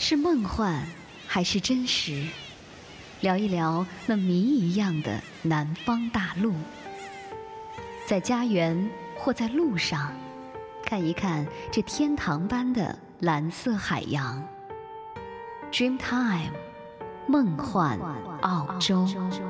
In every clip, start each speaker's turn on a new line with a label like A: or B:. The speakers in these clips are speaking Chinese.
A: 是梦幻还是真实？聊一聊那谜一样的南方大陆。在家园或在路上，看一看这天堂般的蓝色海洋。Dreamtime， 梦幻澳洲。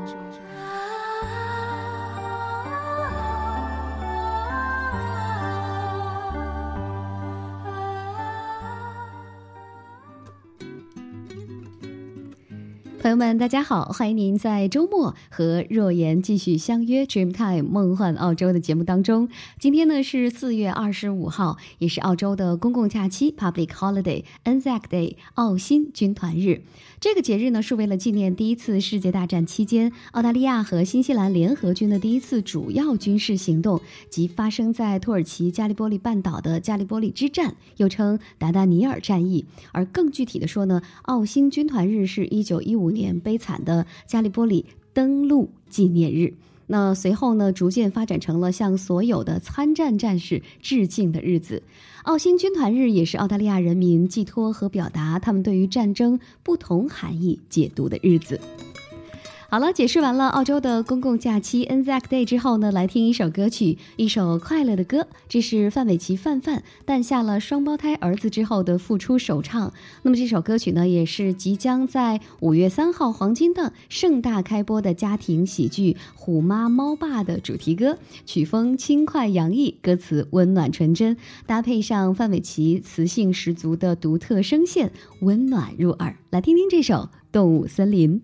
A: 朋友们大家好，欢迎您在周末和若言继续相约 Dreamtime 梦幻澳洲的节目当中。今天呢是4月25号，也是澳洲的公共假期 Public Holiday Anzac Day 澳新军团日。这个节日呢是为了纪念第一次世界大战期间澳大利亚和新西兰联合军的第一次主要军事行动及发生在土耳其加利波利半岛的加利波利之战，又称达达尼尔战役。而更具体的说呢，澳新军团日是1915年悲惨的加利波利登陆纪念日。那随后呢，逐渐发展成了向所有的参战战士致敬的日子。澳新军团日也是澳大利亚人民寄托和表达他们对于战争不同含义解读的日子。好了，解释完了澳洲的公共假期 Anzac Day 之后呢，来听一首歌曲，一首快乐的歌。这是范玮琪范诞下了双胞胎儿子之后的复出首唱。那么这首歌曲呢，也是即将在5月3号黄金档盛大开播的家庭喜剧《虎妈猫爸》的主题歌，曲风轻快洋溢，歌词温暖纯真，搭配上范玮琪磁性十足的独特声线，温暖入耳。来听听这首《动物森林》。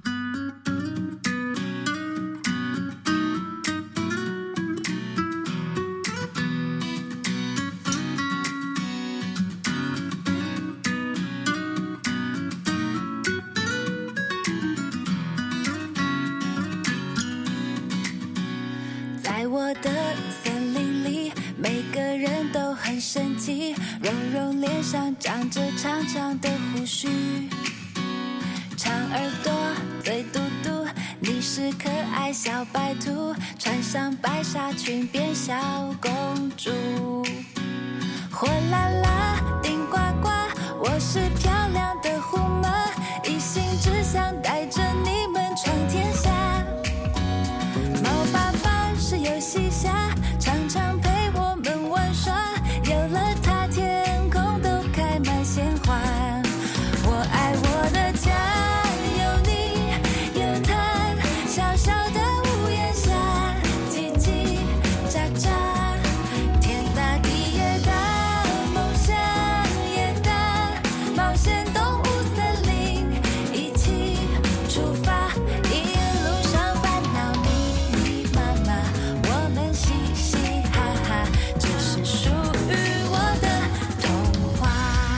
B: 在我的森林里，每个人都很神奇，柔柔脸上长着长长的胡须，长耳朵嘴嘟嘟，你是可爱小白兔，穿上白纱裙变小公主。火辣辣顶呱呱，我是漂亮的虎妈，一心只想带着你们闯天下。猫爸爸是游戏侠，常常陪我们玩耍，有了他天空都开满鲜花。我爱我的家，有你有他，小小的屋檐下，叽叽喳喳，天大地也大，梦想也大，冒险动物森林一起出发，一路上烦恼密密麻麻，我们嘻嘻哈哈，这是属于我的童话。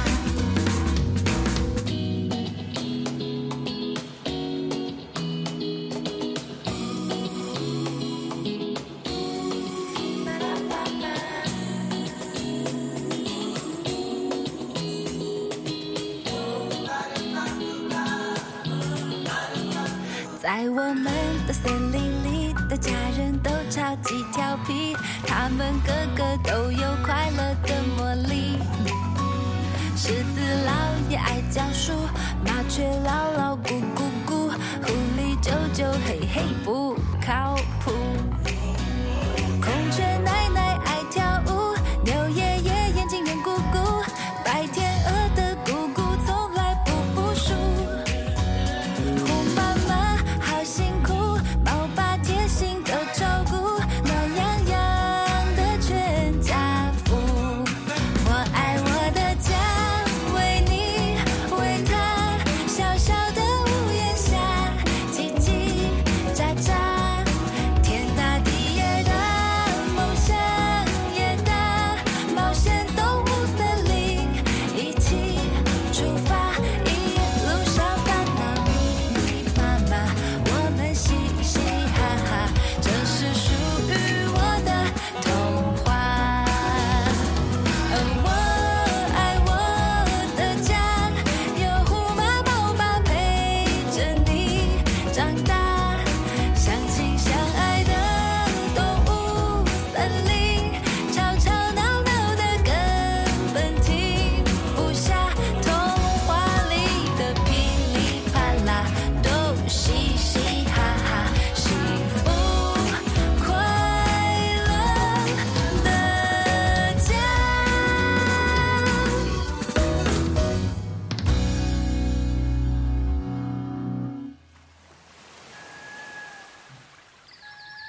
B: 在我们的森林里的家人都超级调皮，他们个个都有快乐的魔力。狮子老爷爱讲书，麻雀唠唠咕咕咕，狐狸啾啾嘿嘿不靠谱。孔雀奶奶爱跳舞，牛爷爷眼睛圆鼓鼓，白天鹅的咕咕从来不服输。虎妈妈好辛苦，猫爸贴心的照顾，暖洋洋的全家福。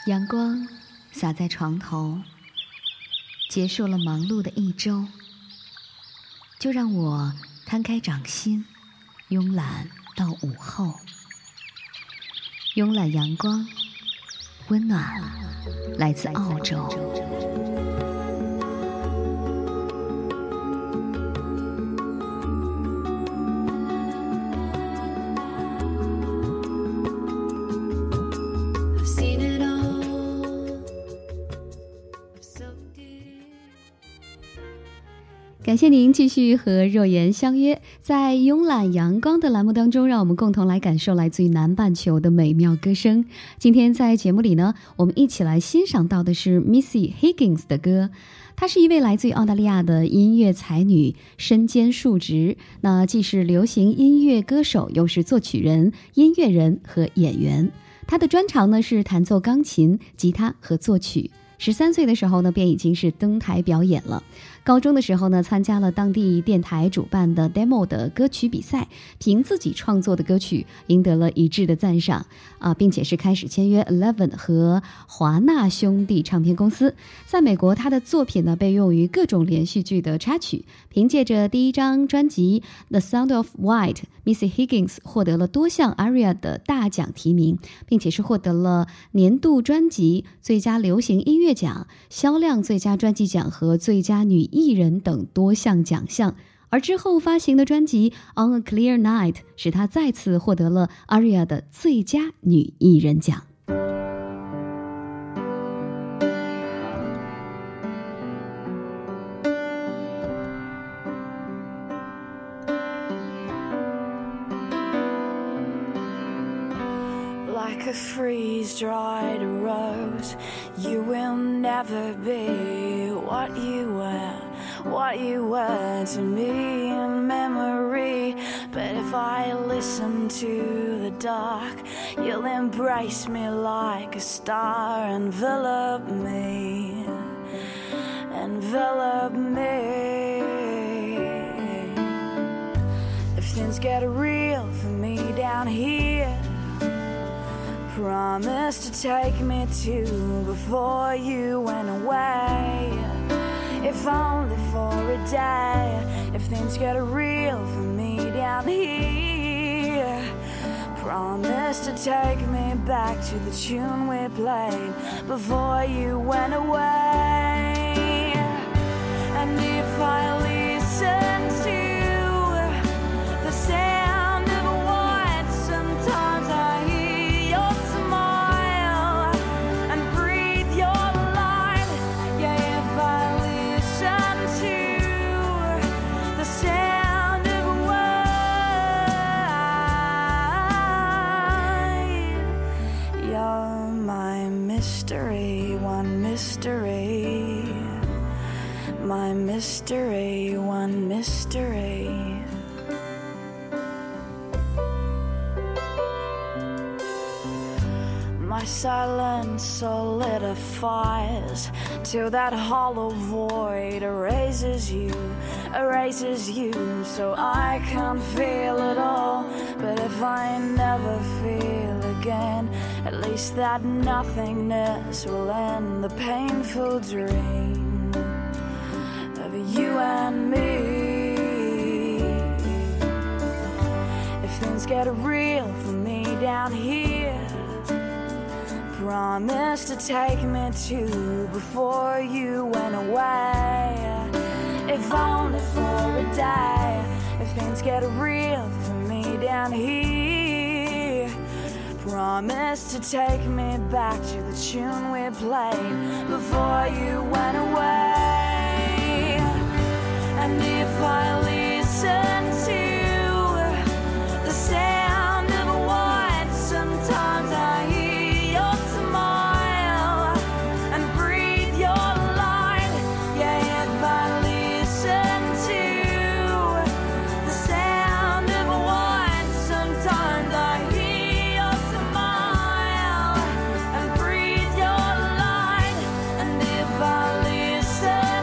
A: 阳光洒在床头，结束了忙碌的一周，就让我摊开掌心，慵懒到午后。慵懒阳光，温暖来自澳洲。感谢您继续和若言相约，在慵懒阳光的栏目当中，让我们共同来感受来自于南半球的美妙歌声。今天在节目里呢，我们一起来欣赏到的是 Missy Higgins 的歌。她是一位来自于澳大利亚的音乐才女，身兼数职，那既是流行音乐歌手，又是作曲人、音乐人和演员。她的专长呢是弹奏钢琴、吉他和作曲。13岁的时候呢，便已经是登台表演了。高中的时候呢，参加了当地电台主办的 demo 的歌曲比赛，凭自己创作的歌曲赢得了一致的赞赏并且是开始签约 Eleven 和华纳兄弟唱片公司。在美国，他的作品呢被用于各种连续剧的插曲。凭借着第一张专辑 The Sound of White， Missy Higgins 获得了多项 ARIA 的大奖提名，并且是获得了年度专辑、最佳流行音乐奖、销量最佳专辑奖和最佳女艺人等多项奖项。而之后发行的专辑 On a Clear Night 使她再次获得了 ARIA 的最佳女艺人奖。
B: Like a freeze-dried rose, you will never be what you were to me in memory. But if I listen to the dark, you'll embrace me like a star. Envelop me, envelop me. If things get real for me down here, promise to take me to before you went away, if only for a day. If things get real for me down here, promise to take me back to the tune we played before you went away. And if I listen to the sound of a white, sometimes I hear your smile and breathe your light. Yeah, if I listen to the sound of a white, you're my mystery, one mystery, my mystery, one mystery. My silence solidifies till that hollow void erases you, so I can't feel it all. But if I never feel again, at least that nothingness will end the painful dream of you and me. If things get real for me down here, promise to take me to before you went away, if only for a day. If things get real for me down here, promise to take me back to the tune we played before you went away. And if I listen to the sound of a white, sometimes I hear your smile and breathe your light. Yeah, if I listen to the sound of a white, sometimes I hear your smile and breathe your light. And if I listen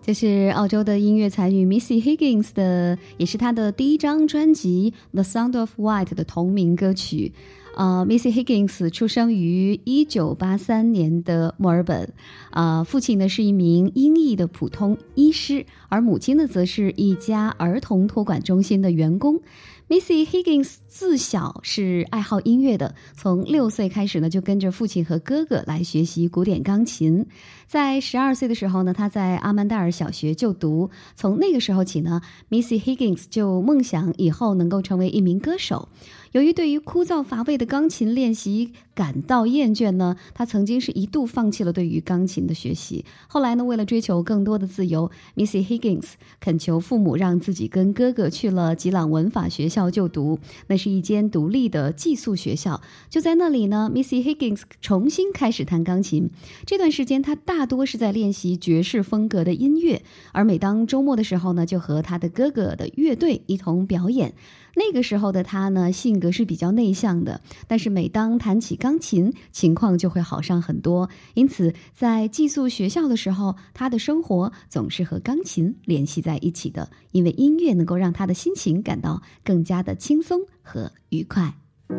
A: 这是澳洲的音乐才女 Missy Higgins 的，也是她的第一张专辑《The Sound of White》的同名歌曲。Missy Higgins 出生于1983年的墨尔本，父亲呢是一名英裔的普通医师，而母亲呢则是一家儿童托管中心的员工。Missy Higgins 自小是爱好音乐的，从6岁开始呢，就跟着父亲和哥哥来学习古典钢琴。在12岁的时候呢，他在阿曼代尔小学就读。从那个时候起呢 ，Missy Higgins 就梦想以后能够成为一名歌手。由于对于枯燥乏味的钢琴练习感到厌倦呢，他曾经是一度放弃了对于钢琴的学习。后来呢，为了追求更多的自由 ，Missy Higgins 恳求父母让自己跟哥哥去了吉朗文法学校就读，那是一间独立的寄宿学校。就在那里呢 ，Missy Higgins 重新开始弹钢琴。这段时间，他大多是在练习爵士风格的音乐，而每当周末的时候呢，就和他的哥哥的乐队一同表演。那个时候的他呢，性格是比较内向的，但是每当弹起钢琴，情况就会好上很多。因此，在寄宿学校的时候，他的生活总是和钢琴联系在一起的，因为音乐能够让他的心情感到更加的轻松和愉快。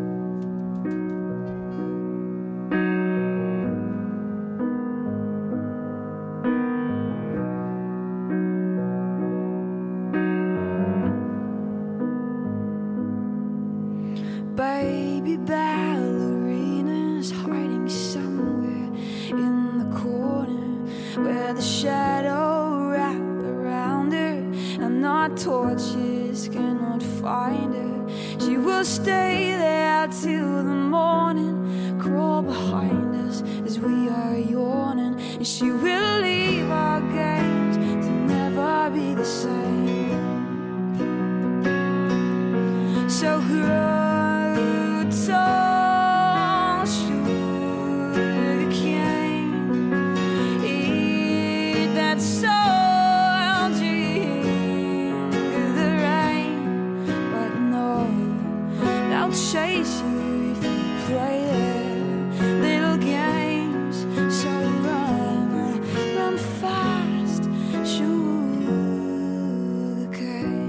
B: Baby ballerinas hiding somewhere in the corner where the shadow wrap around her and our torches cannot find her. She will stay there till the morning, crawl behind us as we are yawning, and she will leave our games to never be the same. So tall sugar cane, eat that soil, drink the rain, but no, they'll chase you if you play their little games. So run, run fast, sugar cane.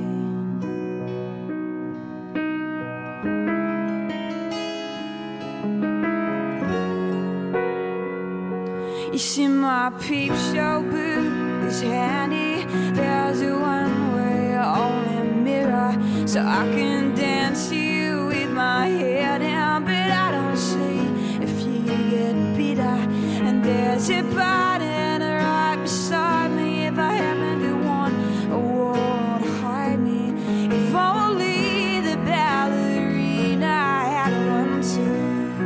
B: You see my peep show booth is handy. There's a one-way only mirror, so I can dance you with my hair down, but I don't see if you get bitter. And there's a button right beside me if I happen to want a wall to hide me. If only the ballerina had one too.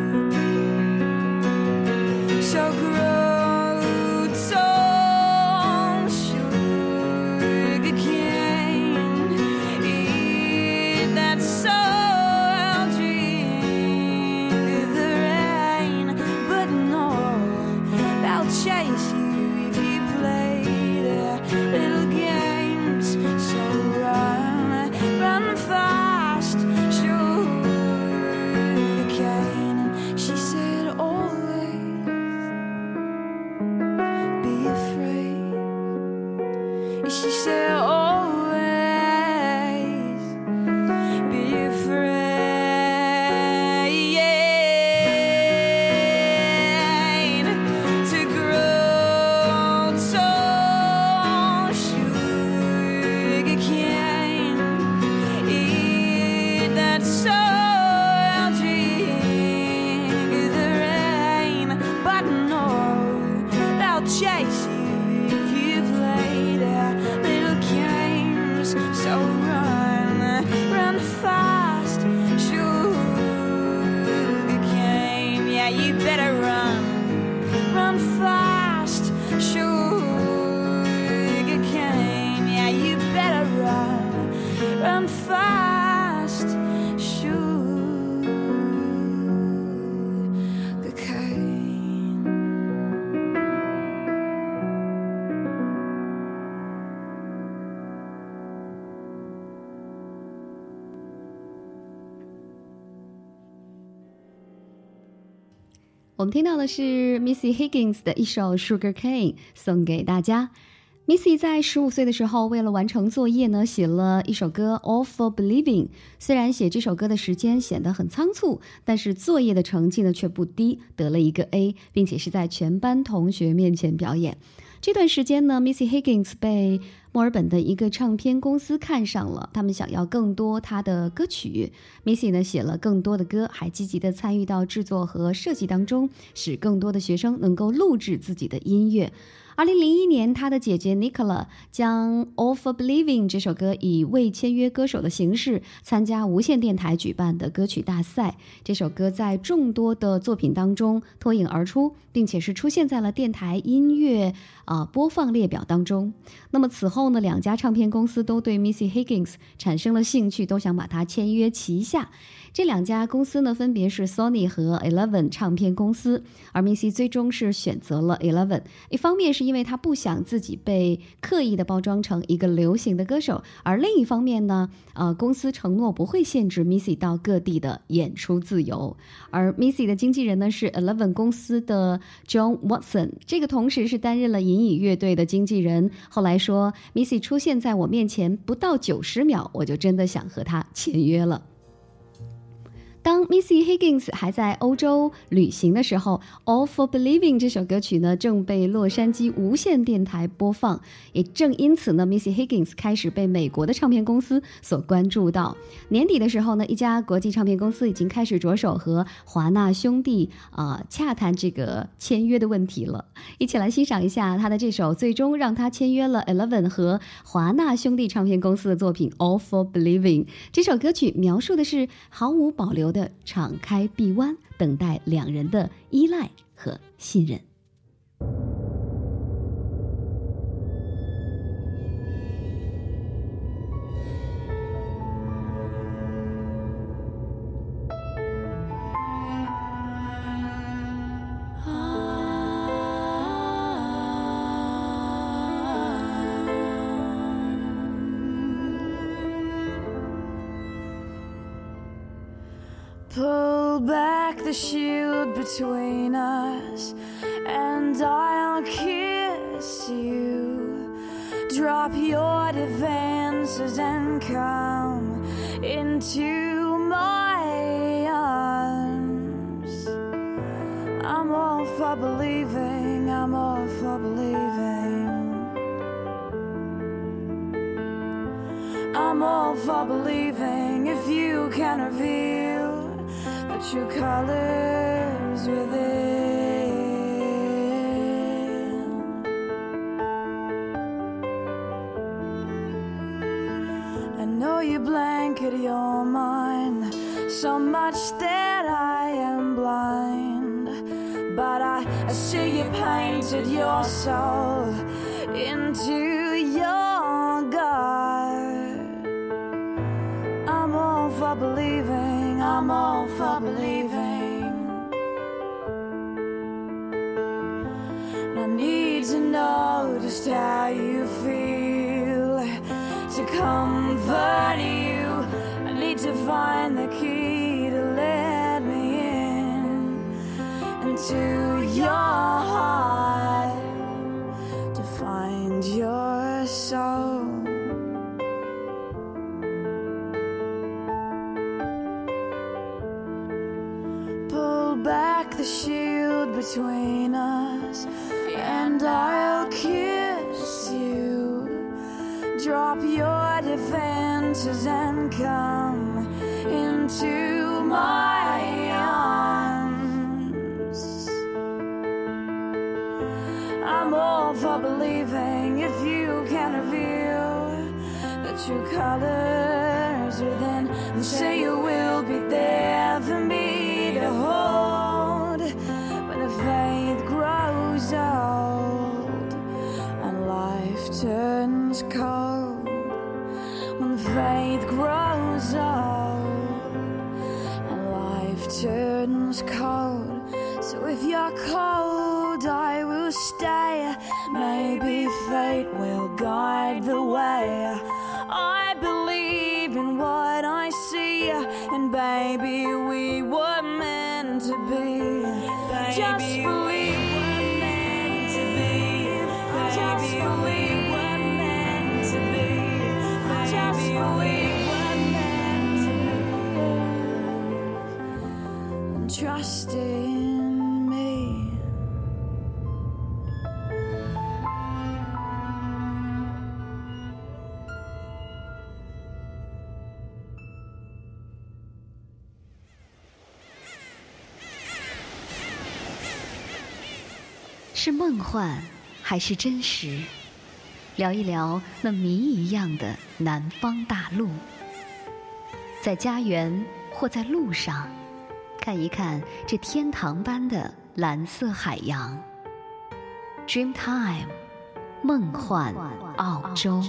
B: So grow chase you if you play their little games. So run, run fast, sugar cane. And she said always be afraid. She said always be afraid. Chase you if you play their little games. So run, run fast, sugar cane. Yeah, you better run, run fast, sugar cane. Yeah, you better run, run fast, sugar cane.
A: 我们听到的是 Missy Higgins 的一首 Sugar Cane 送给大家。 Missy 在15岁的时候，为了完成作业呢，写了一首歌《All for Believing》。虽然写这首歌的时间显得很仓促，但是作业的成绩呢却不低，得了一个 A， 并且是在全班同学面前表演。这段时间呢 Missy Higgins 被墨尔本的一个唱片公司看上了，他们想要更多她的歌曲。Missy 呢写了更多的歌，还积极的参与到制作和设计当中，使更多的学生能够录制自己的音乐。2001年，他的姐姐 Nicola 将 All for Believing 这首歌以未签约歌手的形式参加无线电台举办的歌曲大赛。这首歌在众多的作品当中脱颖而出，并且是出现在了电台音乐播放列表当中。那么此后呢，两家唱片公司都对 Missy Higgins 产生了兴趣，都想把她签约旗下。这两家公司呢，分别是 Sony 和 Eleven 唱片公司，而 Missy 最终是选择了 Eleven。一方面是因为她不想自己被刻意的包装成一个流行的歌手，而另一方面呢，公司承诺不会限制 Missy 到各地的演出自由。而 Missy 的经纪人呢是 Eleven 公司的 John Watson， 这个同时是担任了银翼乐队的经纪人。后来说 Missy 出现在我面前不到90秒，我就真的想和她签约了。当 Missy Higgins 还在欧洲旅行的时候， All for Believing 这首歌曲呢正被洛杉矶无线电台播放。也正因此呢 Missy Higgins 开始被美国的唱片公司所关注到。年底的时候呢，一家国际唱片公司已经开始着手和华纳兄弟洽谈这个签约的问题了。一起来欣赏一下他的这首最终让他签约了 Eleven 和华纳兄弟唱片公司的作品 All for Believing。 这首歌曲描述的是毫无保留的敞开臂弯，等待两人的依赖和信任。
B: Pull back the shield between us, and I'll kiss you. Drop your defenses and come into my arms. I'm all for believing, I'm all for believing. I'm all for believing if you can reveal the true colors within. I know you blanket your mind so much that I am blind, but I see you painted your soul into your God. I'm all for believing, I'm all for believing. And I need to know just how you feel to comfort you. I need to find the key to let me in into your heart, to find your soul. Pull back the shield between us, and I'll kiss you. Drop your defenses and come into my arms. I'm all for believing if you can reveal the true colors within, and say you will be there for me to hold when the faith grows old and life turns cold. When the faith grows old and life turns cold. So if you're cold, I will stay. Maybe fate will guide the way. I believe in what I see, and baby, we were meant to be. Baby, just believe. Just believe. maybe we were meant to trust in me.
A: 是梦幻还是真实？聊一聊那谜一样的南方大陆，在家园或在路上，看一看这天堂般的蓝色海洋。Dreamtime， 梦幻澳洲。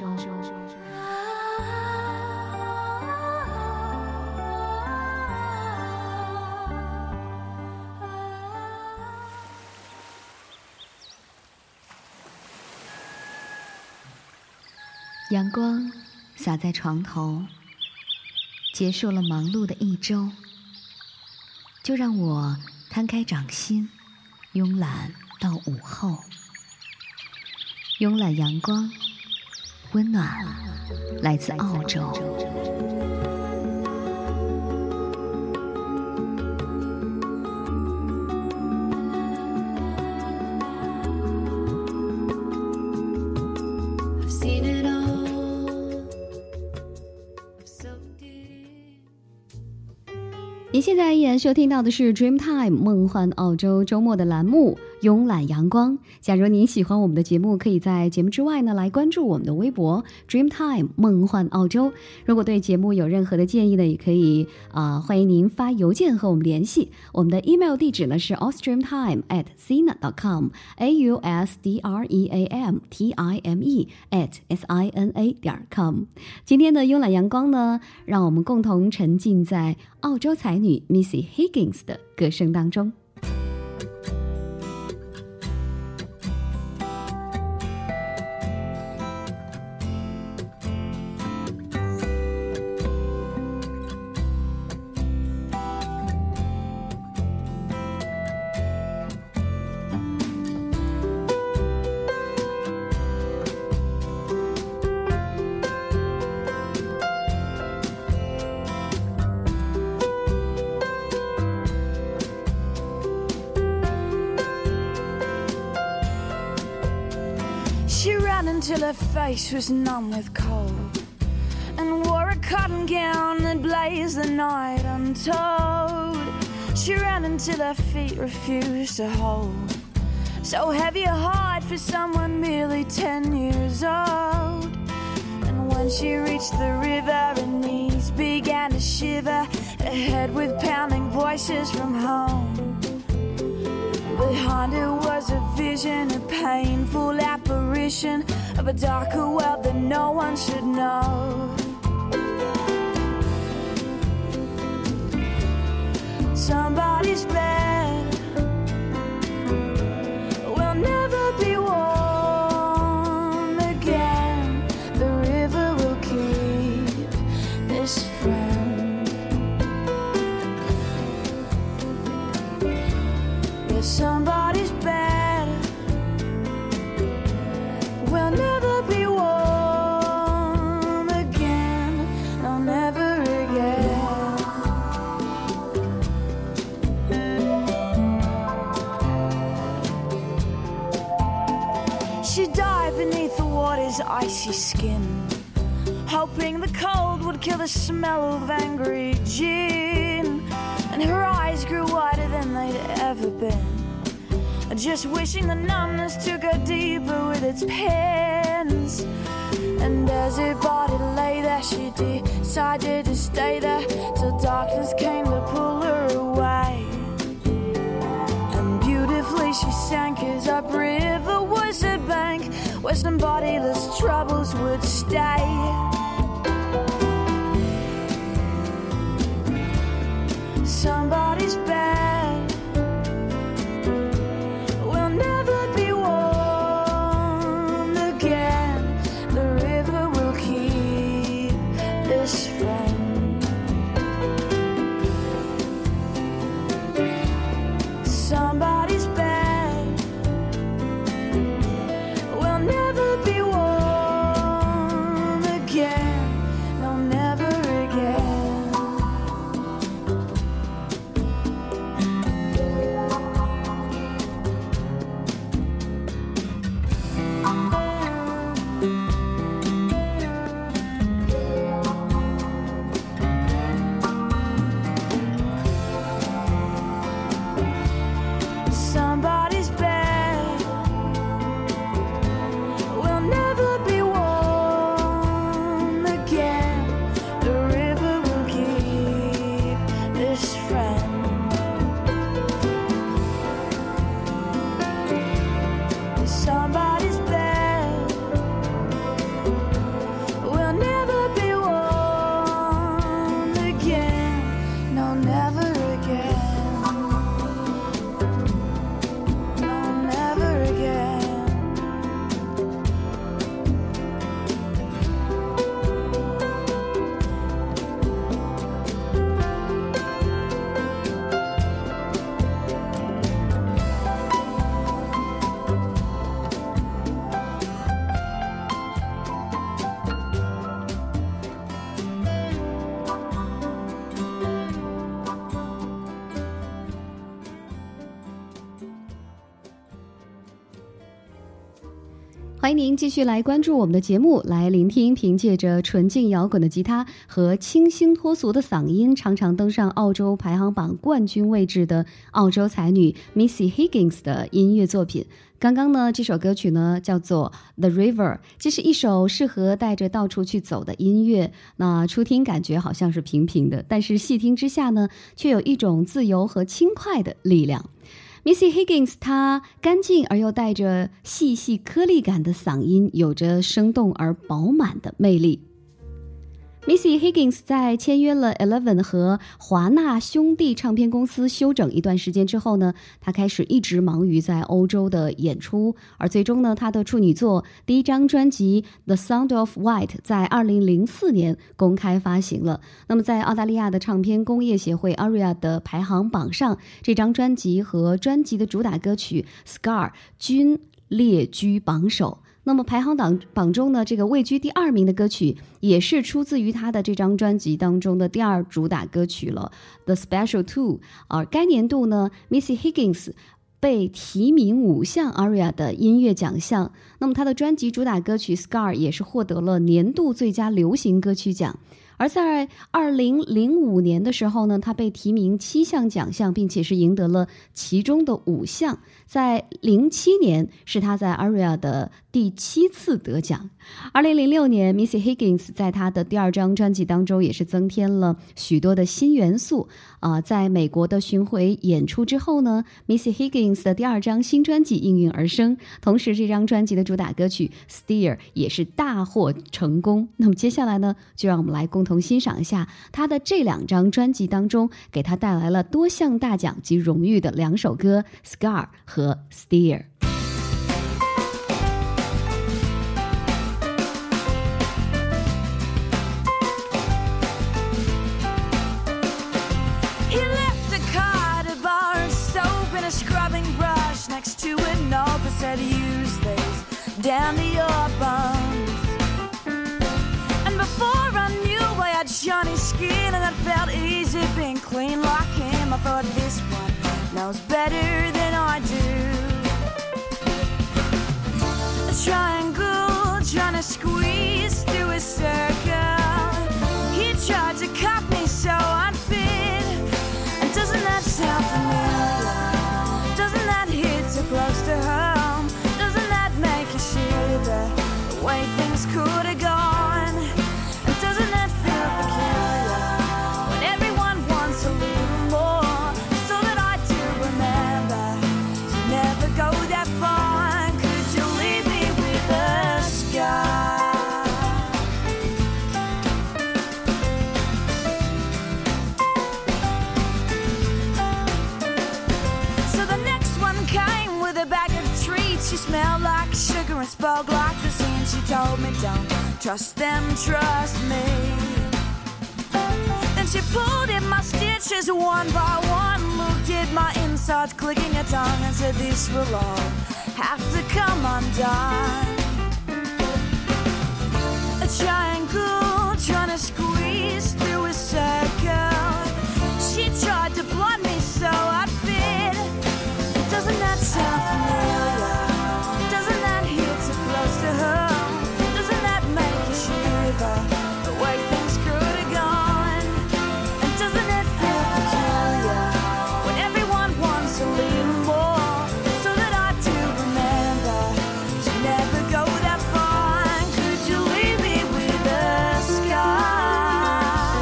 A: 阳光洒在床头，结束了忙碌的一周，就让我摊开掌心，慵懒到午后。慵懒阳光，温暖来自澳洲。您现在依然收听到的是 Dreamtime 梦幻澳洲周末的栏目慵懒阳光。假如您喜欢我们的节目，可以在节目之外呢来关注我们的微博 Dreamtime 梦幻澳洲。如果对节目有任何的建议呢，也可以欢迎您发邮件和我们联系。我们的 email 地址呢是 austreamtime@sina.com austreamtime@sina.com。 今天的慵懒阳光呢，让我们共同沉浸在澳洲才女 Missy Higgins 的歌声当中。
B: She ran until her face was numb with cold, and wore a cotton gown that blazed the night untold. She ran until her feet refused to hold, so heavy a heart for someone merely 10 years old. And when she reached the river, her knees began to shiver, ahead with pounding voices from home. Behind her was a vision, a painful apparition of a darker world that no one should know. Somebody's bed will never be warm again. The river will keep this friend. Yeah, somebody's bed will never be warm again. No, never again. She died beneath the water's icy skin, hoping the cold would kill the smell of angry gin. And her eyes grew wider than they'd ever been, just wishing the numbness took her deeper with its pins. And as her body lay there, she decided to stay there till darkness came to pull her away. And beautifully she sank as upriver was a bank where some bodiless troubles would stay. Somebody's bed will never be warm again. The river will keep this friend. Somebody's bed will never be warm again.
A: 欢迎您继续来关注我们的节目，来聆听凭借着纯净摇滚的吉他和清新脱俗的嗓音，常常登上澳洲排行榜冠军位置的澳洲才女 Missy Higgins 的音乐作品。刚刚呢，这首歌曲呢叫做 The River， 这是一首适合带着到处去走的音乐。那初听感觉好像是平平的，但是细听之下呢，却有一种自由和轻快的力量。Missy Higgins 她干净而又带着细细颗粒感的嗓音，有着生动而饱满的魅力。Missy Higgins 在签约了 Eleven 和华纳兄弟唱片公司休整一段时间之后呢，她开始一直忙于在欧洲的演出，而最终呢，她的处女作第一张专辑 The Sound of White 在2004年公开发行了。那么在澳大利亚的唱片工业协会 ARIA 的排行榜上，这张专辑和专辑的主打歌曲 Scar 均列居榜首。那么排行榜中呢，这个位居第2名的歌曲也是出自于他的这张专辑当中的第2主打歌曲了 The Special Two。 而该年度呢 Missy Higgins 被提名5项 ARIA 的音乐奖项。那么他的专辑主打歌曲 Scar 也是获得了年度最佳流行歌曲奖。而在2005年的时候呢，他被提名7项奖项，并且是赢得了其中的5项。在07年是他在 ARIA 的第7次得奖。2006年 Missy Higgins 在他的第2张专辑当中也是增添了许多的新元素。在美国的巡回演出之后呢， Missy Higgins 的第2张新专辑应运而生，同时这张专辑的主打歌曲 Steer 也是大获成功。那么接下来呢，就让我们来共同欣赏一下他的这2张专辑当中给他带来了多项大奖及荣誉的2首歌 Scar 和 Steer。
B: Said use these down to your bones. And before I knew I had shiny skin and it felt easy being clean like him, I thought this one knows better than I do. A triangle trying to squeeze through a circle. He tried to cut me so I'd fit. And doesn't that sound familiar? Doesn't that hit too close to her? The way things could have gone. And doesn't that feel peculiar when everyone wants a little more? So that I do remember to never go that far. Could you leave me with a scar? So the next one came with a bag of treats. She smelled like sugar and spoke like the sea. She told me don't trust them, trust me. Then she pulled at my stitches one by one, looked at my insides, clicking her tongue, and said this will all have to come undone. A triangle trying to squeeze through a circle. She tried to blind me so I'd fit. Doesn't that sound familiar? Doesn't that hit too close to her? The way things could have gone. And doesn't it feel peculiar when everyone wants a little more? So that I do remember to never go that far. Could you leave me with a scar?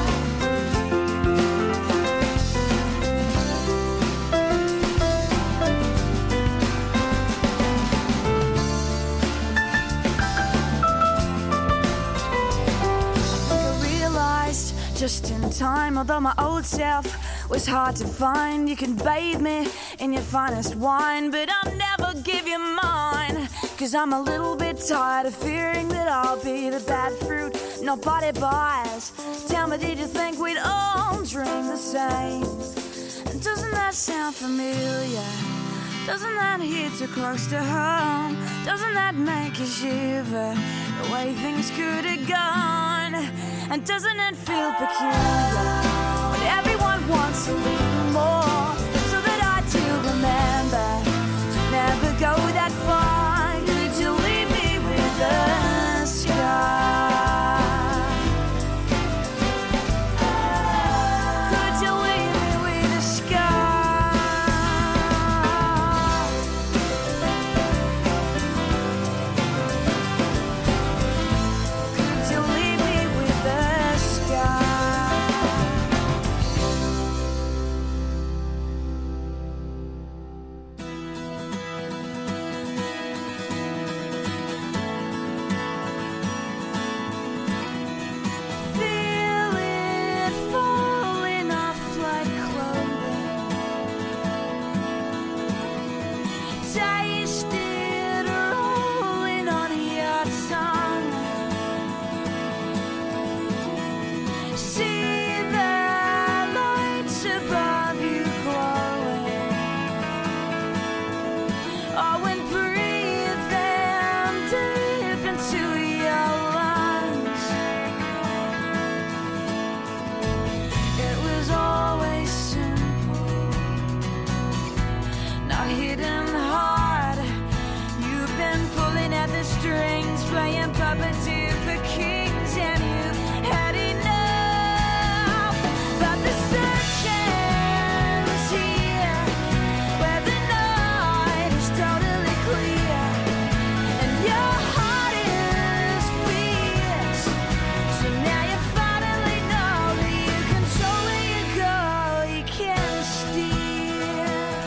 B: Just in time, although my old self was hard to find. You can bathe me in your finest wine, but I'll never give you mine. Cause I'm a little bit tired of fearing that I'll be the bad fruit nobody buys. Tell me, did you think we'd all dream the same? And doesn't that sound familiar? Doesn't that hit too close to home? Doesn't that make you shiver? The way things could have gone. And doesn't it feel peculiar when everyone wants a little more? So that I do remember to never go that far. Could you leave me with and puppeteer for kings, and you've had enough. But the search ends here, where the night is totally clear, and your heart is fierce. So now you finally know that you control where you go, you can't steer.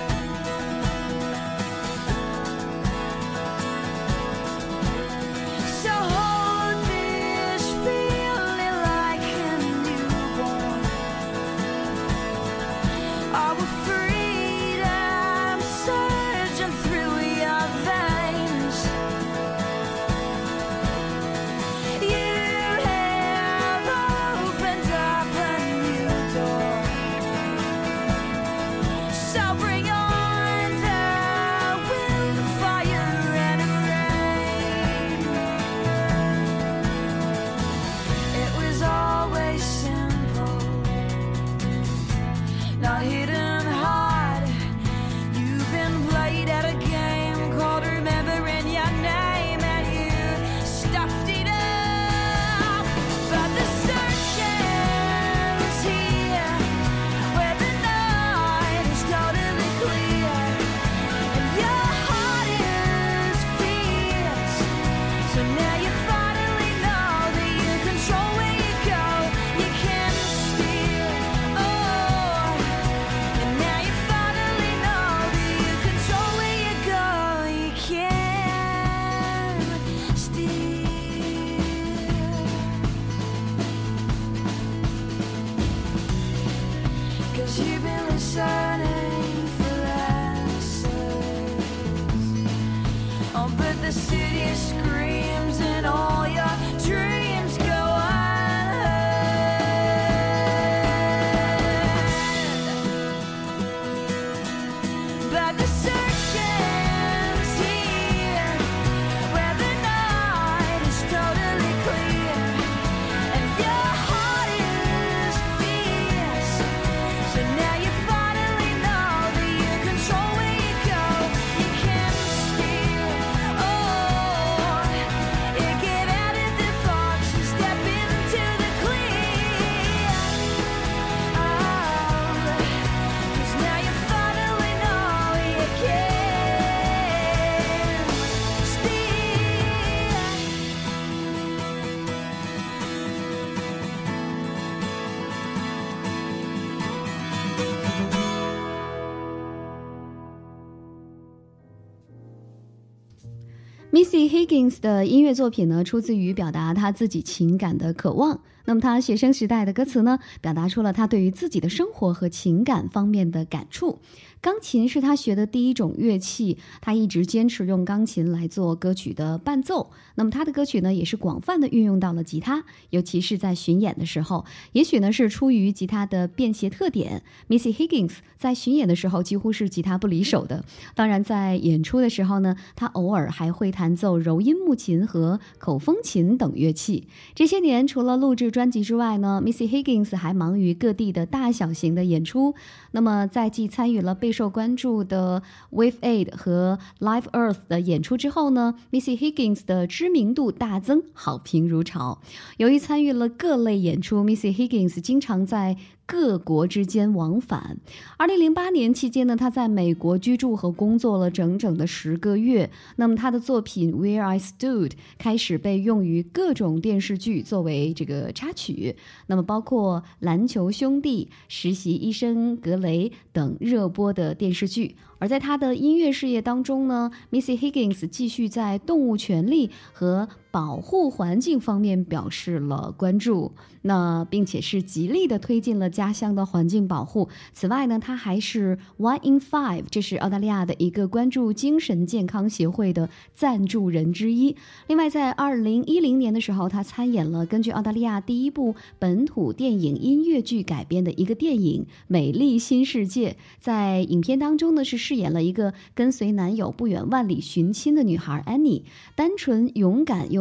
B: So hold this feeling like a newborn. Our freedom surging through your veins. You have opened up a new door. So bring on the wind, fire, and rain. It was always simple, not hidden hard. You've been played at a game called remembering your name, and you stuffed it up. But the search ends here, where the night is totally clear, and your heart is fierce. So now you finally know that you control where you go, you can't steer. Oh, and now you finally know that you control where you go, you can't steer. 'Cause you've been listening for answers. Oh, but the city screams and all your dreams go unheard. But the search ends here, where the night is totally clear, and your heart is fierce. So now you finally know that you control where you go, you can't steer. Oh, you get out of the box and step into the clear. Oh, 'cause now you finally know you can't steer.
A: Missy Higgins 的音乐作品呢，出自于表达她自己情感的渴望。那么她学生时代的歌词呢，表达出了她对于自己的生活和情感方面的感触。钢琴是她学的第一种乐器，她一直坚持用钢琴来做歌曲的伴奏。那么她的歌曲呢，也是广泛的运用到了吉他，尤其是在巡演的时候。也许呢是出于吉他的便携特点， Missy Higgins 在巡演的时候几乎是吉他不离手的。当然在演出的时候呢，她偶尔还会弹奏柔音木琴和口风琴等乐器。这些年除了录制专辑之外呢， Missy Higgins 还忙于各地的大小型的演出。那么在继参与了备受关注的 Wave Aid 和 Live Earth 的演出之后呢， Missy Higgins 的知名度大增，好评如潮。由于参与了各类演出， Missy Higgins 经常在各国之间往返。2008年期间呢，他在美国居住和工作了整整的10个月。那么他的作品 Where I Stood 开始被用于各种电视剧作为这个插曲，那么包括篮球兄弟、实习医生格雷等热播的电视剧。而在他的音乐事业当中呢， Missy Higgins 继续在动物权利和保护环境方面表示了关注，那并且是极力的推进了家乡的环境保护。此外呢，他还是 One in Five， 这是澳大利亚的一个关注精神健康协会的赞助人之一。另外在2010年的时候，他参演了根据澳大利亚第一部本土电影音乐剧改编的一个电影《美丽新世界》。在影片当中呢，是饰演了一个跟随男友不远万里寻亲的女孩 Annie， 单纯勇敢又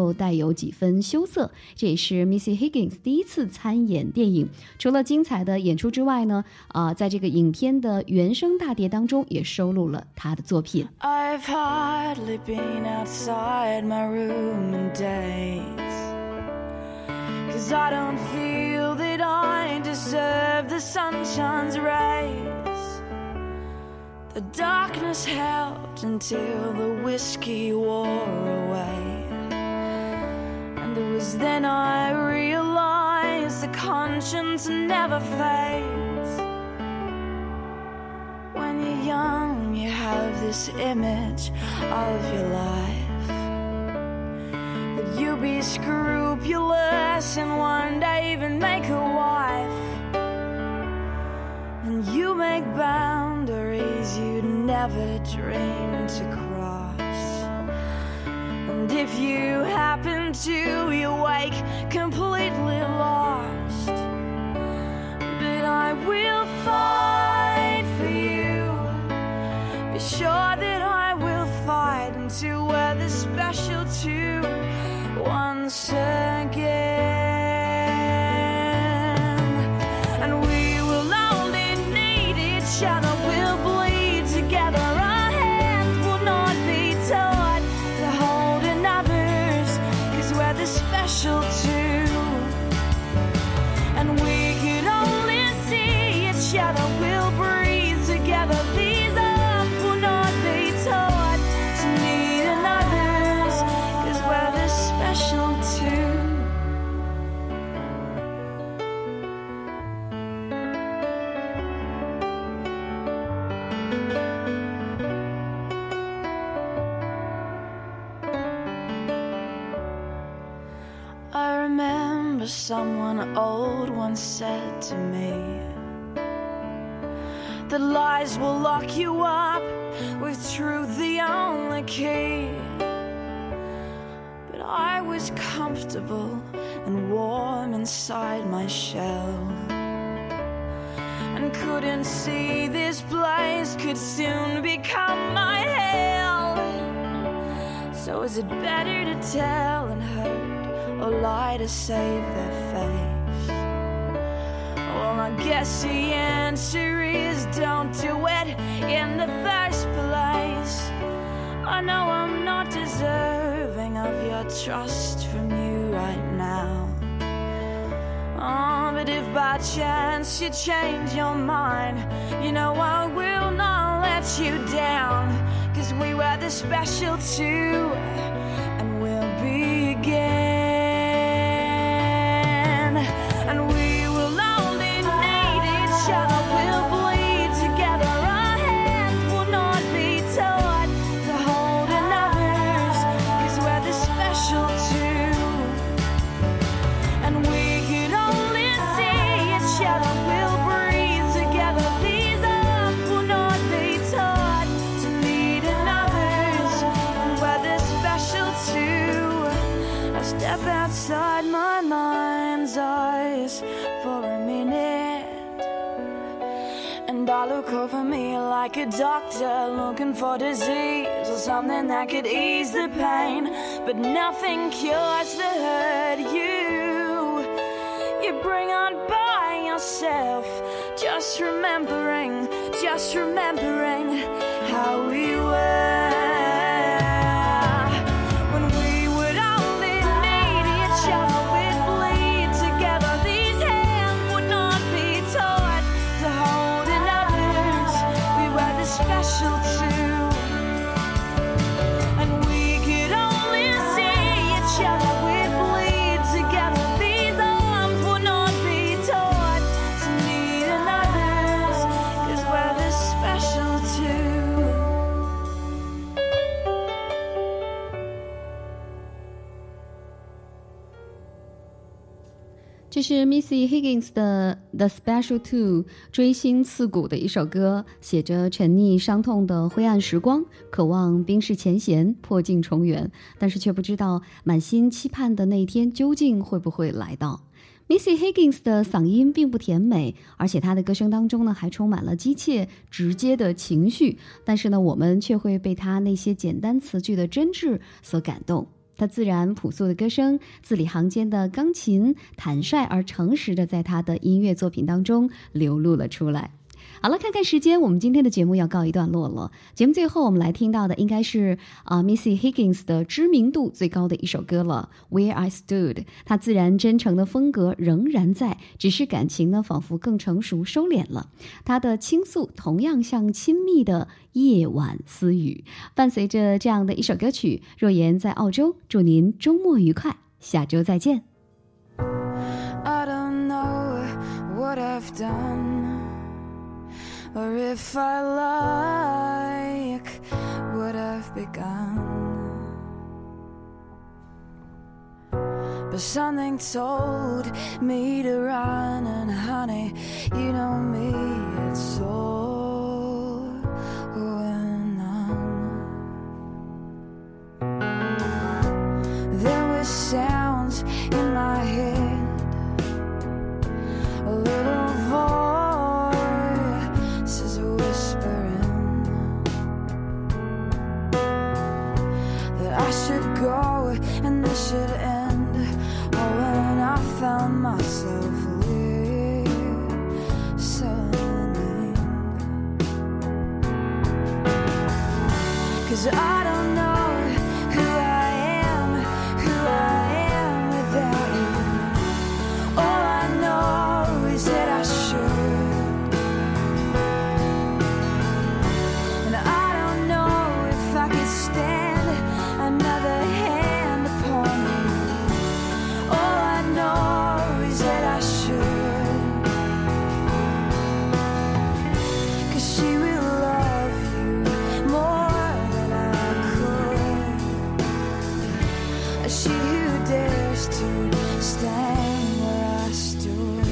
A: 又带有几分羞涩。这也是 Missy Higgins 第一次参演电影。除了精彩的演出之外呢，在这个影片的原声大碟当中也收录了她的作品。
B: I've hardly been outside my room in days, 'cause I don't feel that I deserve the sunshine's rays. The darkness helped until the whiskey wore away, and it was then I realized the conscience never fades. When you're young, you have this image of your life, that you'll be scrupulous and one day even make a wife, and you make boundaries you'd never dream to cross. And if you happen to, you wake completely lost. But I will fight for you, be sure that I will fight until we're the special two once again. And we will only need each other, we'll bleed together. Our hands will not be taught to hold another's, 'cause we're the special two. And we can only see each other, we'll breathe together. These arms will not be taught to need another's, 'cause we're the special two. I remember someone old once said to me that lies will lock you up, with truth the only key. But I was comfortable and warm inside my shell, and couldn't see this place could soon become my hell. So is it better to tell and hurt, or lie to save their face? Well, I guess the answer is don't do it in the first place. I know I'm not deserving of your trust from you right now. Oh, but if by chance you change your mind, you know I will not let you down, 'cause we were the special two, and we'll be again. And we will only need each other, we'll bleed together. Our hands will not be taught to hold another's, 'cause we're the special two. And we can only see each other, we'll breathe together. These arms will not be taught to need another's, and we're the special two. I step outside my mind's eyes for a minute, and I look over me like a doctor looking for disease or something that could ease the pain, but nothing cures the hurt you bring on by yourself. Just remembering how we were when we would only need each other, we'd bleed together. These hands would not be taught to hold another's, we were the special two. And we could only see each other, we'd bleed together. These arms will not be taught to need another's, 'cause we're the special two.
A: 这是 Missy Higgins 的 The Special Two， 锥心刺骨的一首歌，写着沉溺伤痛的灰暗时光，渴望冰释前嫌，破镜重圆，但是却不知道满心期盼的那一天究竟会不会来到。Missy Higgins 的嗓音并不甜美，而且她的歌声当中呢还充满了激切直接的情绪，但是呢我们却会被她那些简单词句的真挚所感动。 他自然朴素的歌声，字里行间的钢琴，坦率而诚实的在他的音乐作品当中流露了出来。好了，看看时间，我们今天的节目要告一段落了。节目最后我们来听到的应该是Missy Higgins 的知名度最高的一首歌了， Where I Stood。 他自然真诚的风格仍然在，只是感情呢仿佛更成熟收敛了。他的倾诉同样像亲密的夜晚私语。伴随着这样的一首歌曲，若言在澳洲，祝您周末愉快，下周再见。
B: I don't know what I've done, or if I like what I've begun, but something told me to run, and honey, you know me, it's all going on. There were sounds in my head, a little voice whispering that I should go and this should end. Oh, when I found myself listening, 'cause I don't know who I am without you. All I know is that I should, and I don't know if I could stand another hand upon you. All I know is that I should, 'cause she will love you more than I could. She who dares to stand where I stood.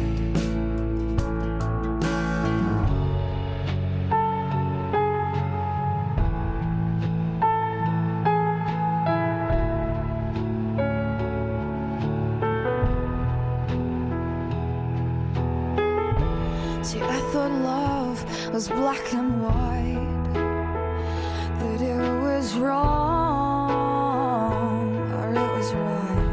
B: See, I thought love was black and white, that it was wrong or it was right.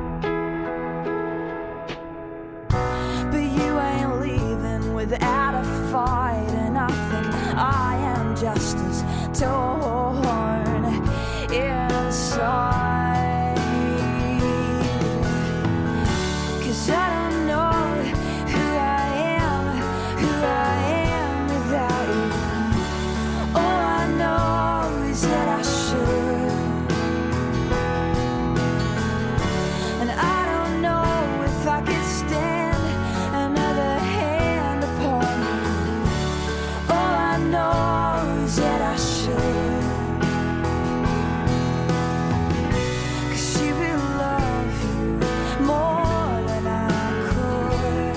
B: But you ain't leaving without a fight, and I think I am just as torn inside. 'Cause I don't know who I am without you. All I know is that I should, and I don't know if I could stand another hand upon you. All I know is that I should, 'cause she will love you more than I could.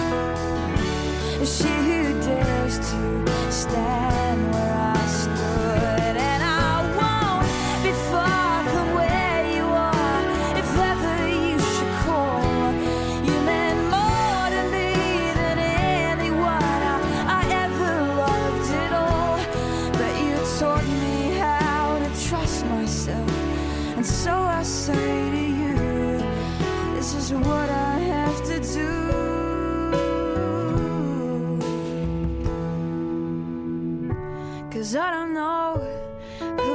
B: She who dares to stand where I stood, and I won't be far from where you are if ever you should call. You meant more to me than anyone I ever loved at all. But you taught me how to trust myself, and so I say to you, this is what I have to do. 'Cause I don't know who